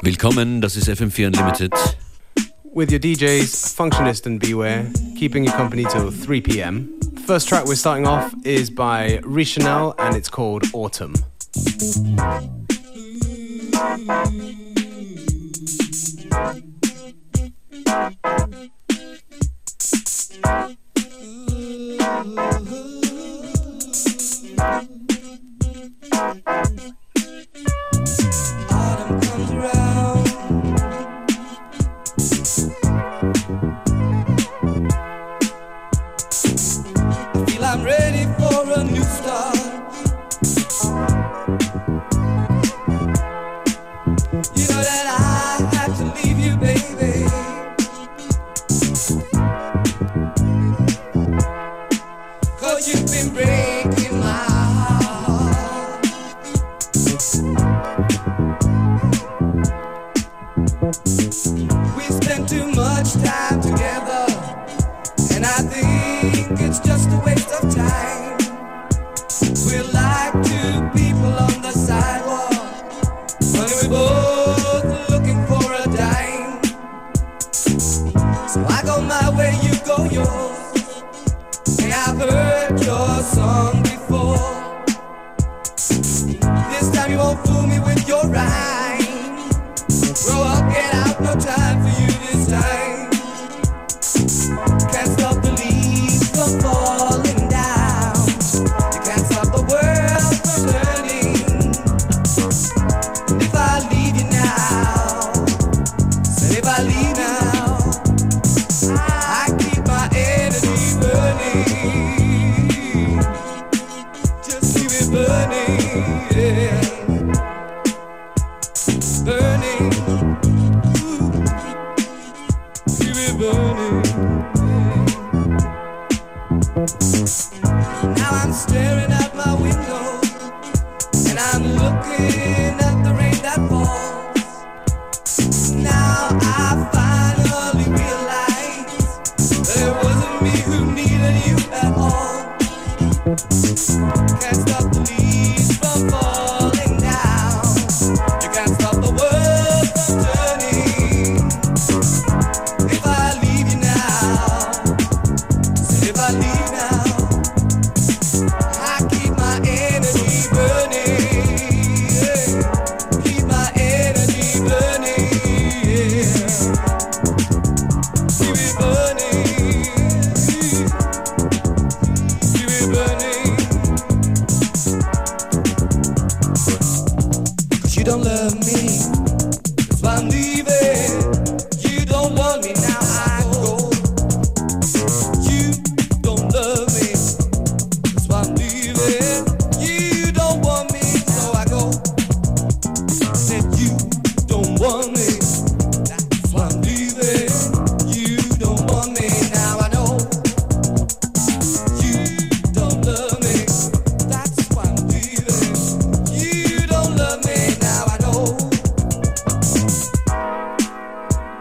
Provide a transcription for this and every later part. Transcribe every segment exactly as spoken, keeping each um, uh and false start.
Willkommen, das ist F M vier Unlimited. With your D Js, Functionist and Beware, keeping you company till three p.m. The first track we're starting off is by Richanel and it's called Autumn. Autumn comes around. I feel I'm ready for a new start. You know that I had to leave you, baby. Cause you've been breaking my heart. We spent too much time together, and I think it's just a waste of time. We're like two people on the sidewalk, but we're both looking for a dime. So I go my way, you go yours. Hey, I've heard your song before. This time you won't fool me with your rhyme. Grow up, get out, no time for you this time. Can't stop the leaves from falling down. You can't stop the world from turning. And if I leave you now, said if I leave now, I keep my energy burning. Just keep it burning, yeah. Burning, ooh, keep it burning. Now I'm staring out my window, and I'm looking at the rain that falls. Now I finally realize that it wasn't me who needed you at all. Can't stop the leaves from falling down. You can't stop the world from turning. If I leave you now, say if I leave now, I keep my energy burning, yeah. Keep my energy burning, yeah. Keep it burning, keep it burning. 'Cause you don't love me, that's why I'm leaving. You don't want me, now I go. You don't love me, that's why I'm leaving. You don't want me, so I go. I said you don't want me, that's why I'm leaving. You don't want me, now I know. You don't love me, that's why I'm leaving. You don't love me, now I know.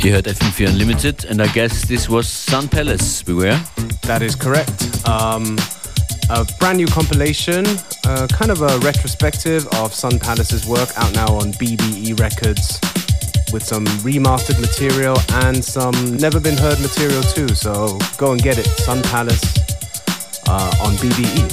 Ihr hört F M four Unlimited, and I guess this was Sun Palace. Beware. That is correct. Um, a brand new compilation, uh, kind of a retrospective of Sun Palace's work, out now on B B E Records, with some remastered material and some never been heard material too. So go and get it. Sun Palace uh, on B B E.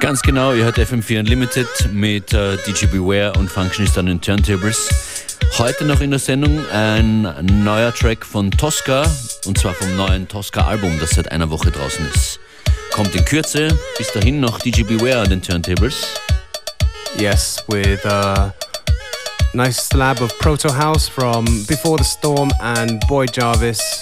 Ganz genau, ihr hört F M vier Unlimited mit äh, D J Beware und Functionist an den Turntables. Heute noch in der Sendung ein neuer Track von Tosca, und zwar vom neuen Tosca-Album, das seit einer Woche draußen ist. Kommt in Kürze, bis dahin noch D J Beware an den Turntables. Yes, with a nice slab of Proto House from Before the Storm and Boy Jarvis.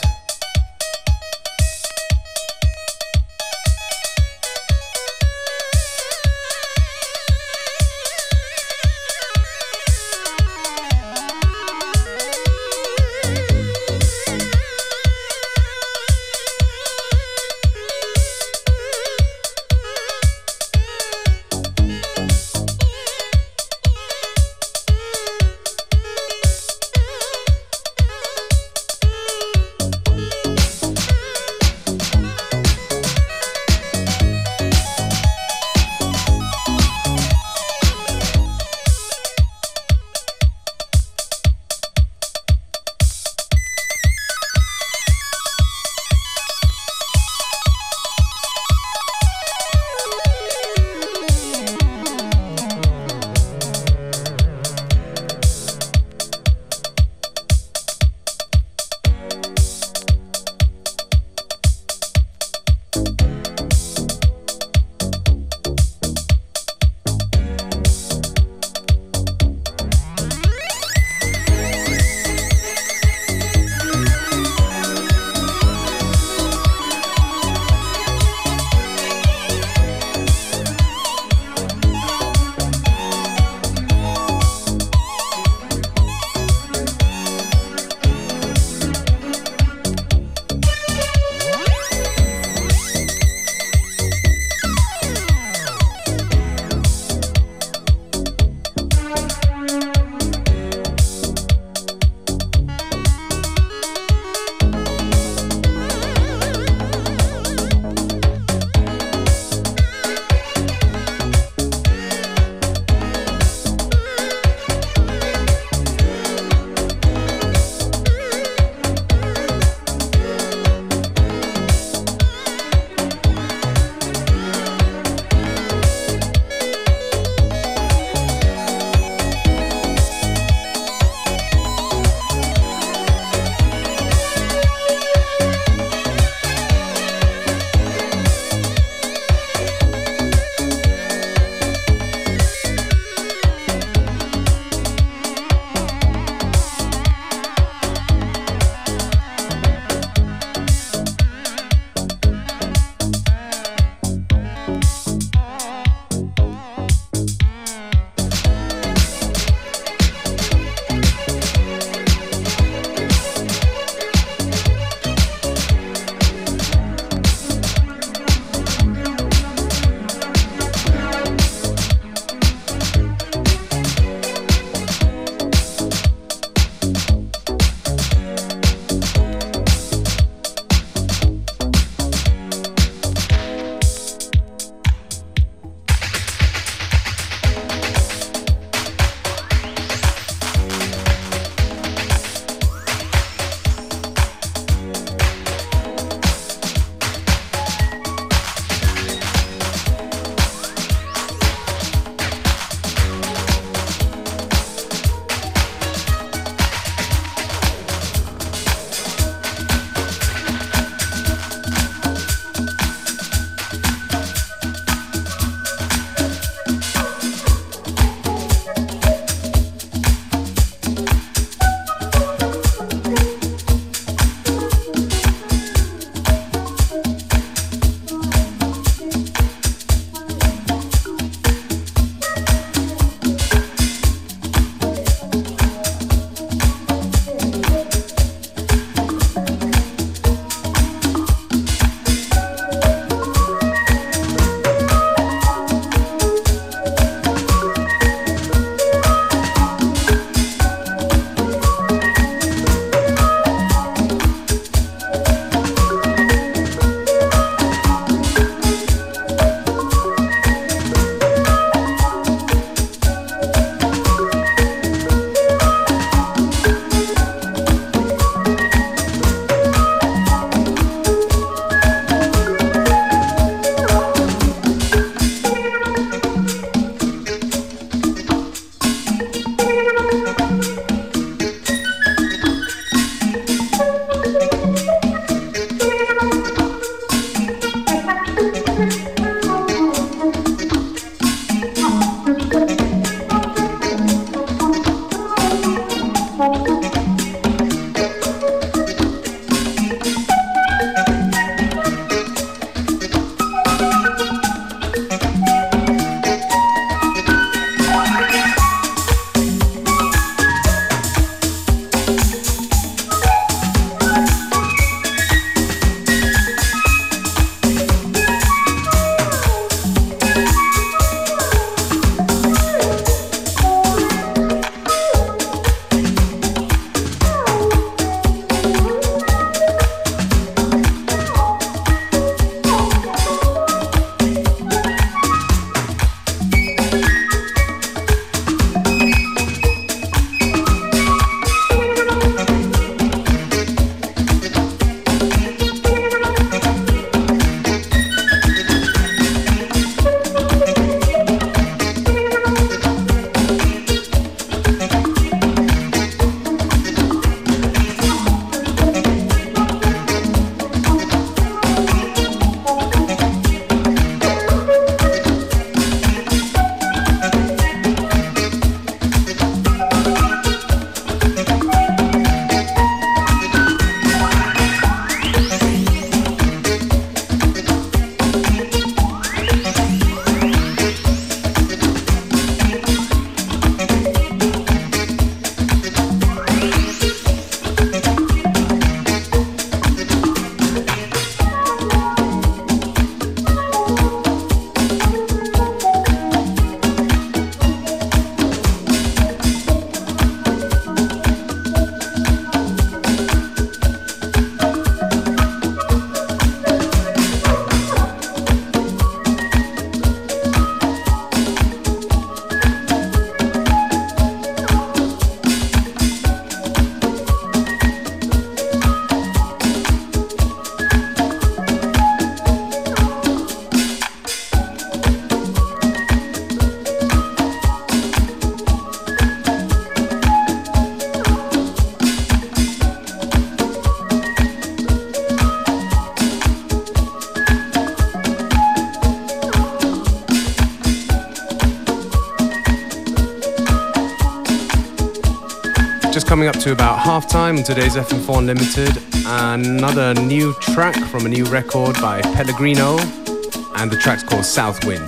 coming up to about halftime on today's F M four Unlimited. Another new track from a new record by Pellegrino, and the track's called South Wind.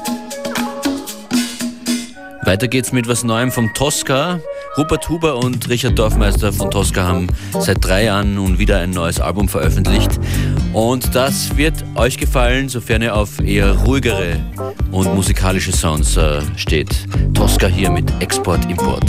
Weiter geht's mit was Neuem vom Tosca. Rupert Huber und Richard Dorfmeister von Tosca haben seit drei Jahren nun wieder ein neues Album veröffentlicht. Und das wird euch gefallen, sofern ihr auf eher ruhigere und musikalische Sounds äh, steht. Tosca hier mit Export-Import.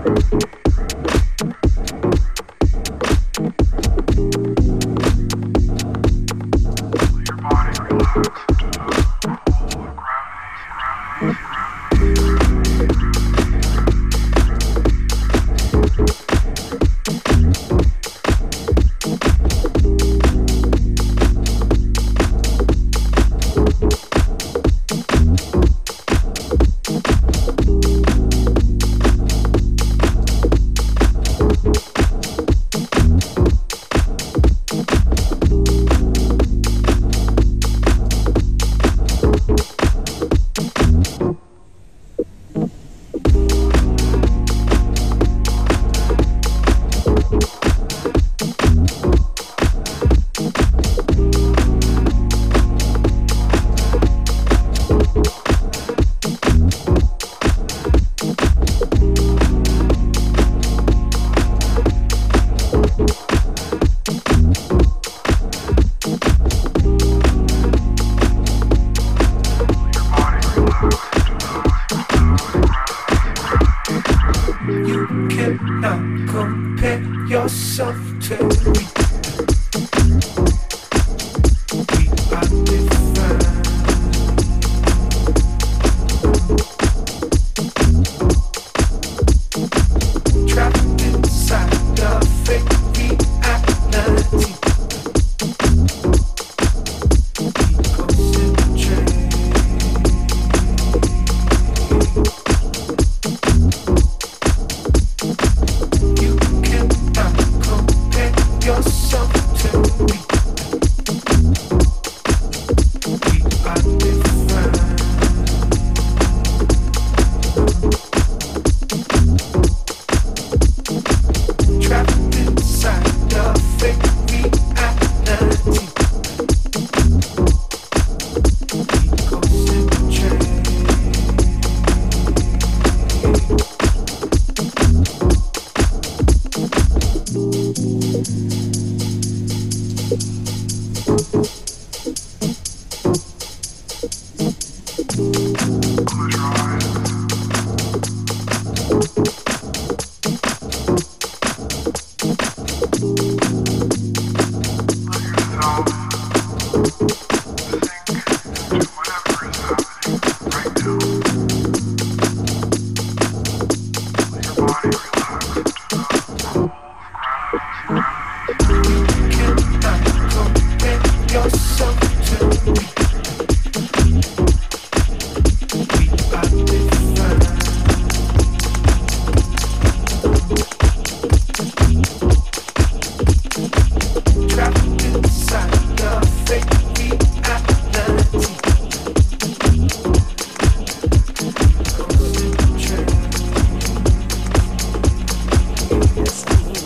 Yes,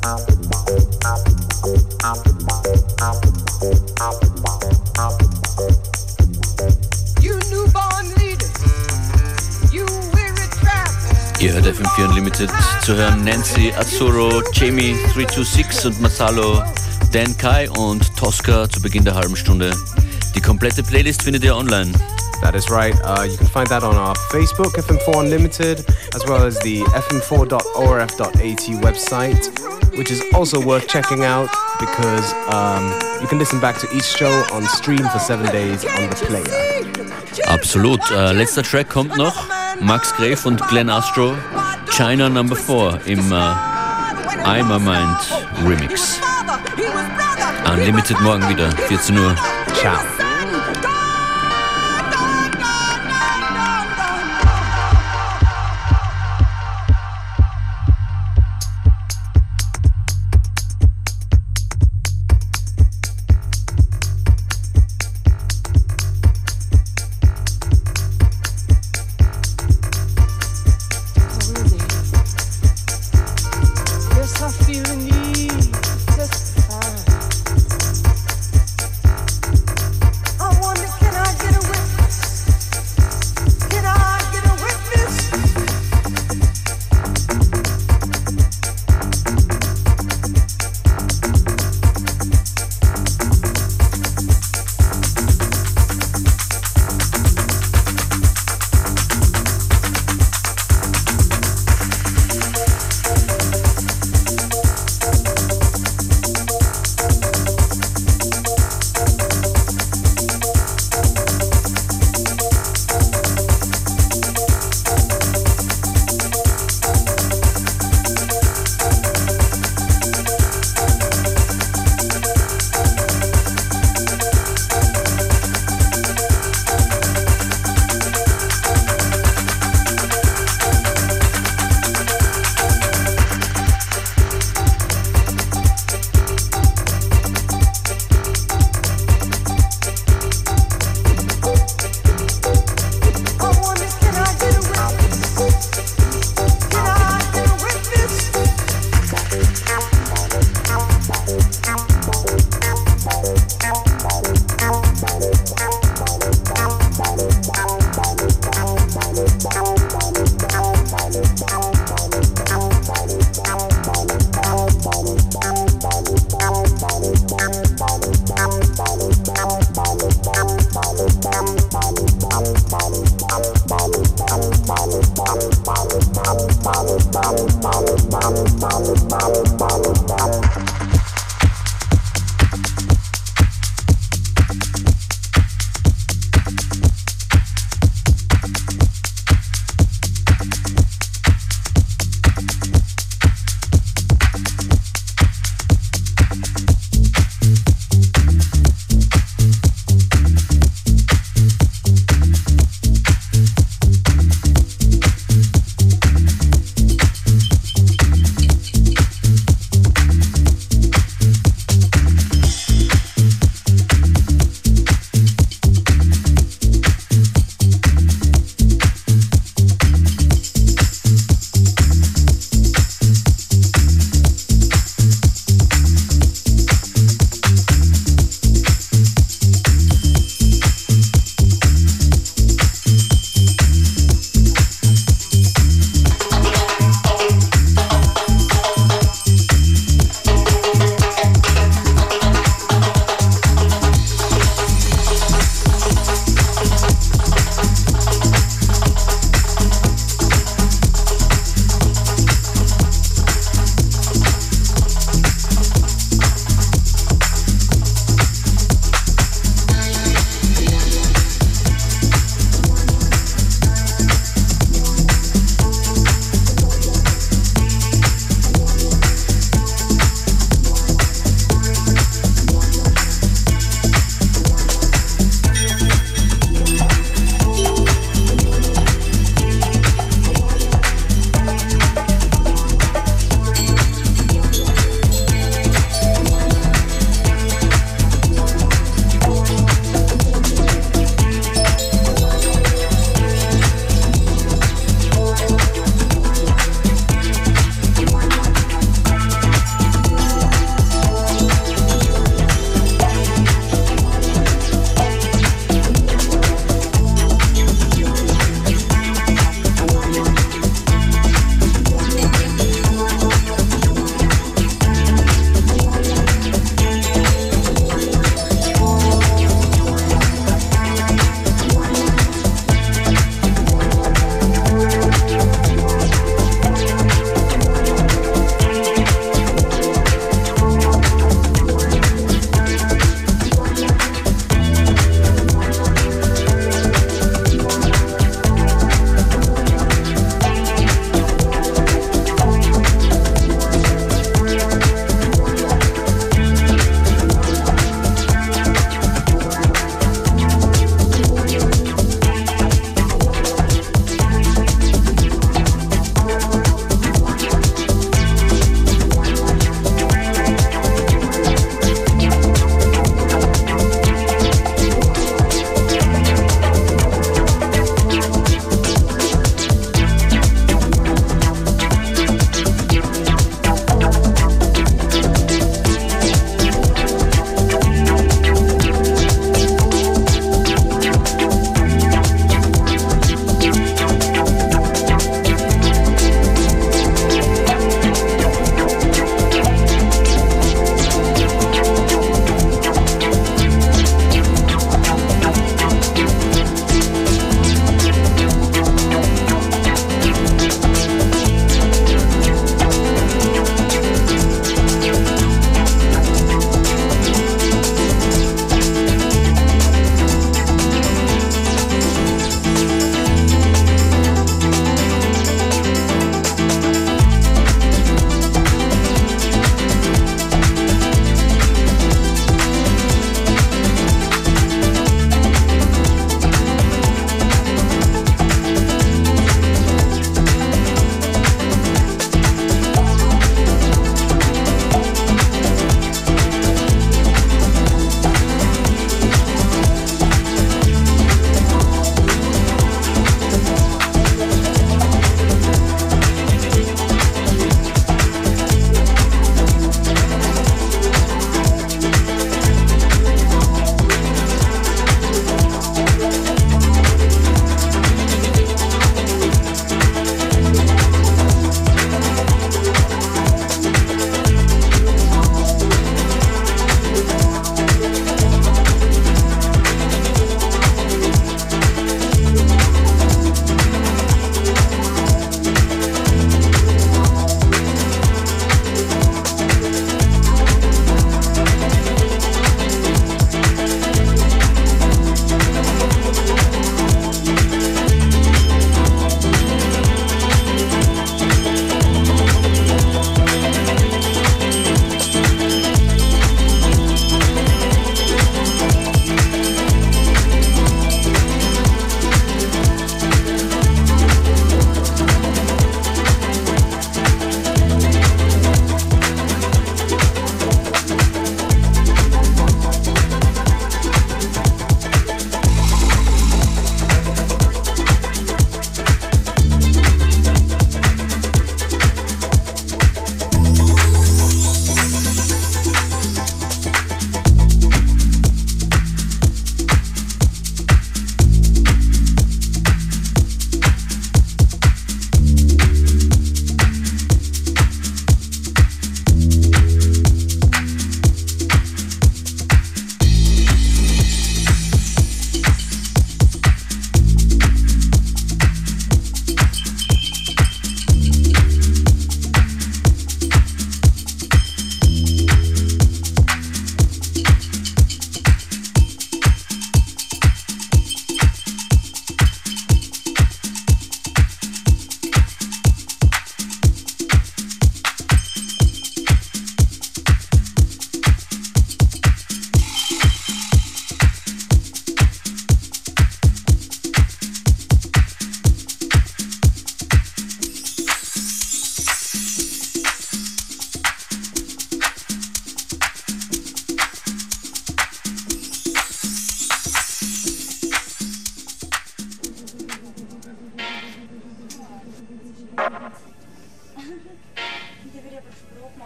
Ihr hört F M vier Unlimited, zu hören Nancy Azzurro, Jamie drei zwei sechs und Masalo, Dan Kai und Tosca zu Beginn der halben Stunde. Die komplette Playlist findet ihr online. That is right. Uh, you can find that on our Facebook, F M four Unlimited, as well as the f m four dot o r f dot a t website, which is also worth checking out because um, you can listen back to each show on stream for seven days on the player. Absolut. Äh, letzter Track kommt noch. Max Grave und Glenn Astro, China Number four im äh, I'm a Mind Remix. Unlimited morgen wieder, vierzehn Uhr. Ciao.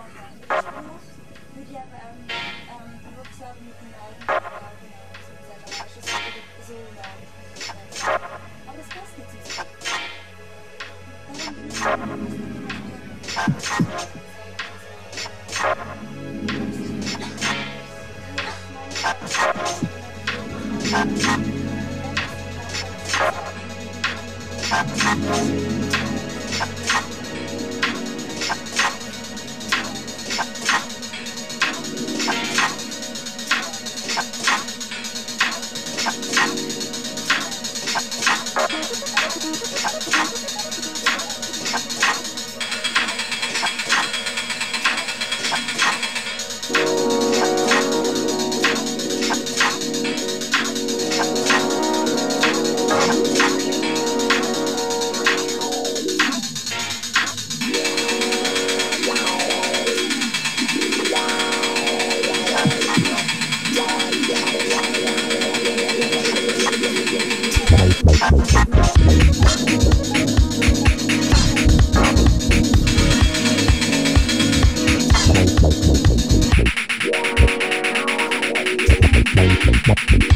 What?